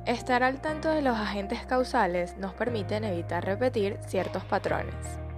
Estar al tanto de los agentes causales nos permiten evitar repetir ciertos patrones.